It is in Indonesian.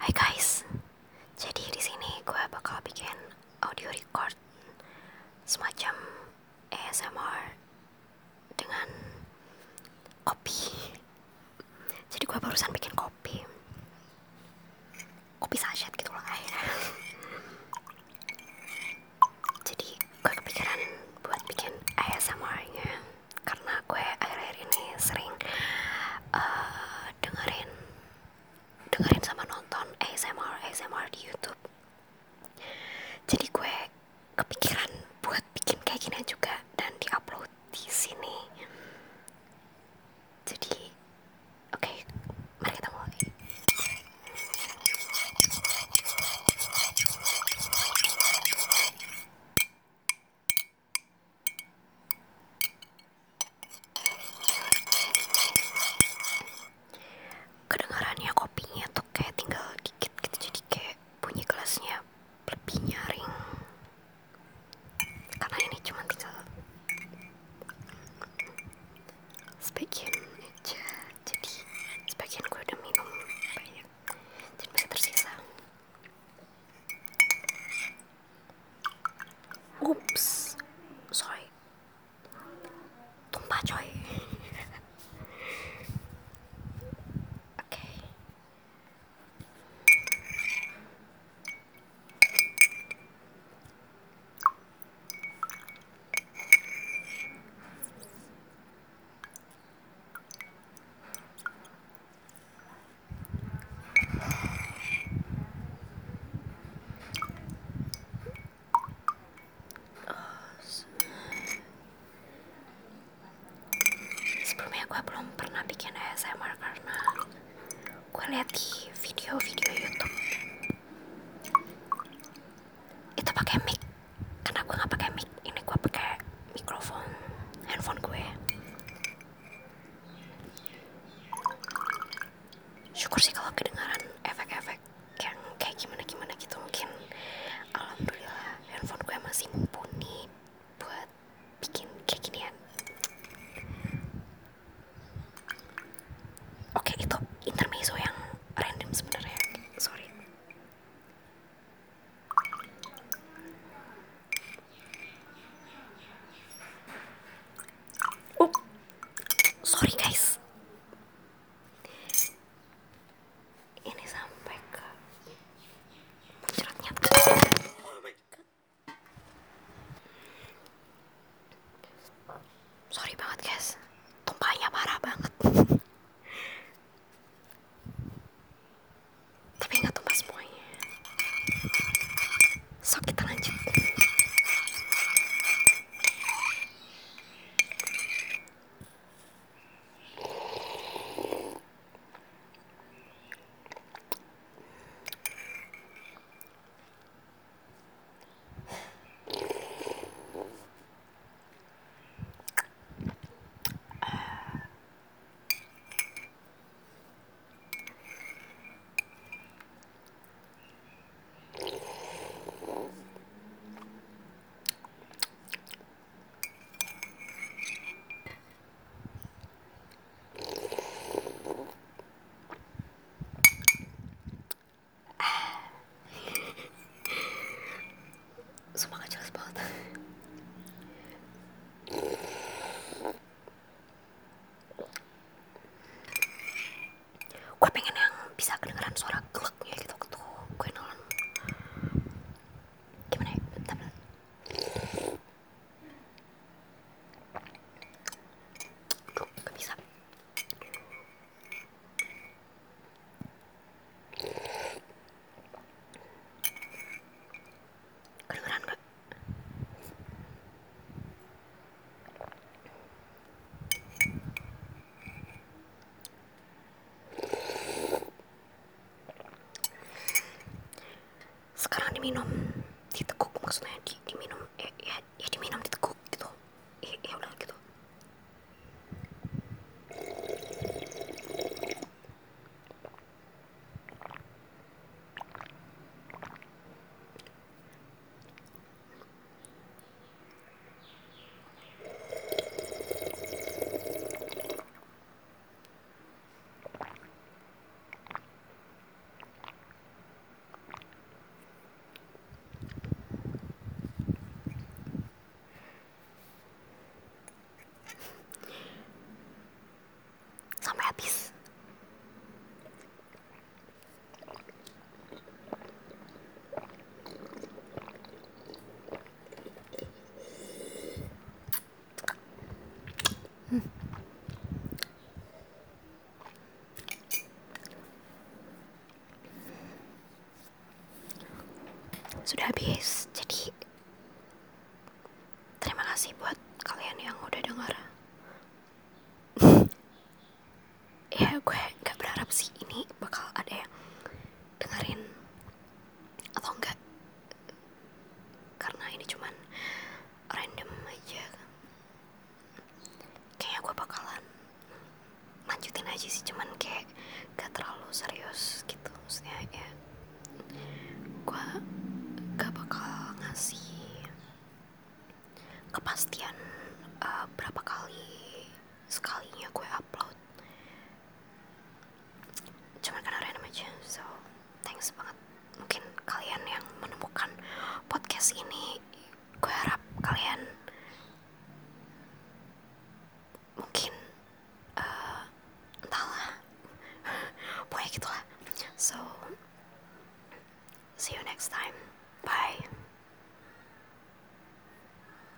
Hai guys, jadi di sini gue bakal bikin audio record semacam ASMR dengan kopi. Jadi gue barusan bikin kopi sachet gitu lah ya. Jadi gue kepikiran buat bikin ASMR-nya karena gue akhir-akhir ini sering dengerin sama nonton ASMR di YouTube. Jadi gue kepikiran buat bikin kayak gini juga dan diupload di sini. Jadi, oke, mari kita mulai. Kedengarannya kopinya tuh kayak tinggal dikit gitu, jadi kayak bunyi gelasnya lebih nyaring. Karena ini cuma tinggal sebagian aja, jadi sebagian gue udah minum banyak, jadi masih tersisa. Ups, sorry, tumpah coy. Oke. Sebelumnya gue belum pernah bikin ASMR karena gue lihat di video-video YouTube itu pakai mic. Karena gue nggak pakai mic, ini gue pakai mikrofon handphone gue. Syukur sih kalau kedengaran efek-efek yang kayak gimana gitu. Mungkin alhamdulillah handphone gue masih mumpuni buat bikin kayak ginian. Oke, itu intermezzo yang random sebenarnya, sorry. Sorry guys, ini sampai ke muncratnya. Oh my god, sorry banget guys, tumpahnya parah banget. Tapi nggak tumpah semuanya, so kita lanjut. Sumpah gak jelas banget. Gue pengen yang bisa kedengeran suara gleknya gitu tuh. Gue nelen. Gimana ya? Bentar. Duh, gak bisa. Kedengeran gak? Sekarang diminum, diteguk, maksudnya diminum, ya diminum diteguk gitu. Ya udah gitu. sudah habis. Jadi terima kasih buat kalian yang udah denger. Ya gue gak berharap sih ini bakal ada yang dengerin atau enggak, karena ini cuman random aja. Kayaknya gue bakalan lanjutin aja sih, cuman kayak gak terlalu serius gitu. Maksudnya ya gue gak bakal ngasih kepastian berapa kali sekalinya gue upload, cuman karena random aja. So thanks banget. Mungkin